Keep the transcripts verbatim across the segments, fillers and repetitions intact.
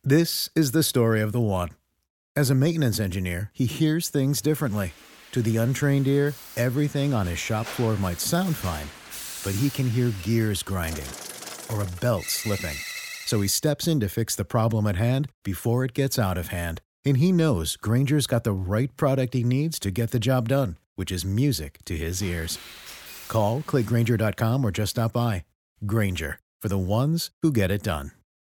This is the story of the one. As a maintenance engineer, he hears things differently. To the untrained ear, everything on his shop floor might sound fine, but he can hear gears grinding or a belt slipping. So he steps in to fix the problem at hand before it gets out of hand. And he knows Grainger's got the right product he needs to get the job done, which is music to his ears. Call, click Grainger dot com, or just stop by. Grainger, for the ones who get it done.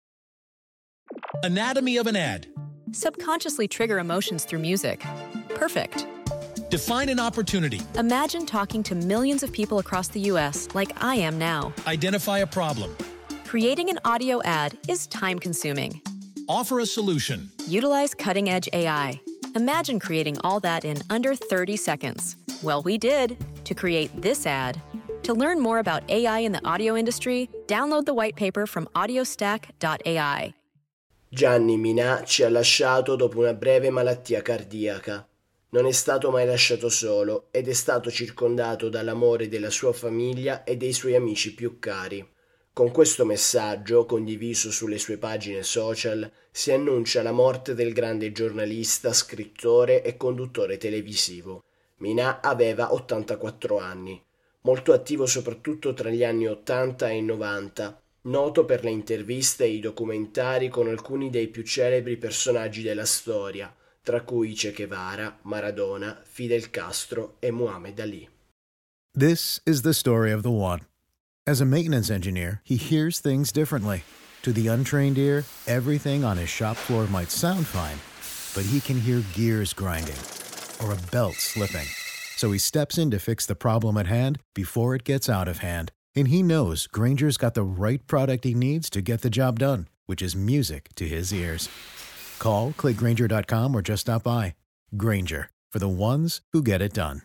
Anatomy of an ad. Subconsciously trigger emotions through music. Perfect. Define an opportunity. Imagine talking to millions of people across the U S like I am now. Identify a problem. Creating an audio ad is time-consuming. Offer a solution. Utilize cutting-edge A I. Imagine creating all that in under thirty seconds. Well, we did to create this ad. To learn more about A I in the audio industry, download the white paper from audiostack dot A I. Gianni Minà ci ha lasciato dopo una breve malattia cardiaca. Non è stato mai lasciato solo ed è stato circondato dall'amore della sua famiglia e dei suoi amici più cari. Con questo messaggio, condiviso sulle sue pagine social, si annuncia la morte del grande giornalista, scrittore e conduttore televisivo. Minà aveva ottantaquattro anni, molto attivo soprattutto tra gli anni ottanta e novanta, noto per le interviste e i documentari con alcuni dei più celebri personaggi della storia, tra cui Che Guevara, Maradona, Fidel Castro e Muhammad Ali. This is the story of the one. As a maintenance engineer, he hears things differently. To the untrained ear, everything on his shop floor might sound fine, but he can hear gears grinding or a belt slipping. So he steps in to fix the problem at hand before it gets out of hand. And he knows Grainger's got the right product he needs to get the job done, which is music to his ears. Call, click Grainger dot com, or just stop by. Grainger, for the ones who get it done.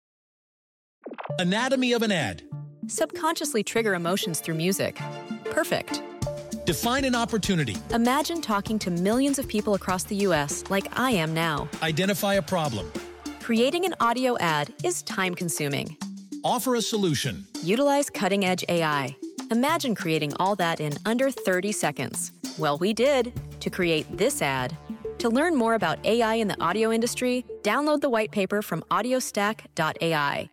Anatomy of an ad. Subconsciously trigger emotions through music. Perfect. Define an opportunity. Imagine talking to millions of people across the U S like I am now. Identify a problem. Creating an audio ad is time-consuming. Offer a solution. Utilize cutting-edge A I. Imagine creating all that in under thirty seconds. Well, we did to create this ad. To learn more about A I in the audio industry, download the white paper from audiostack dot A I.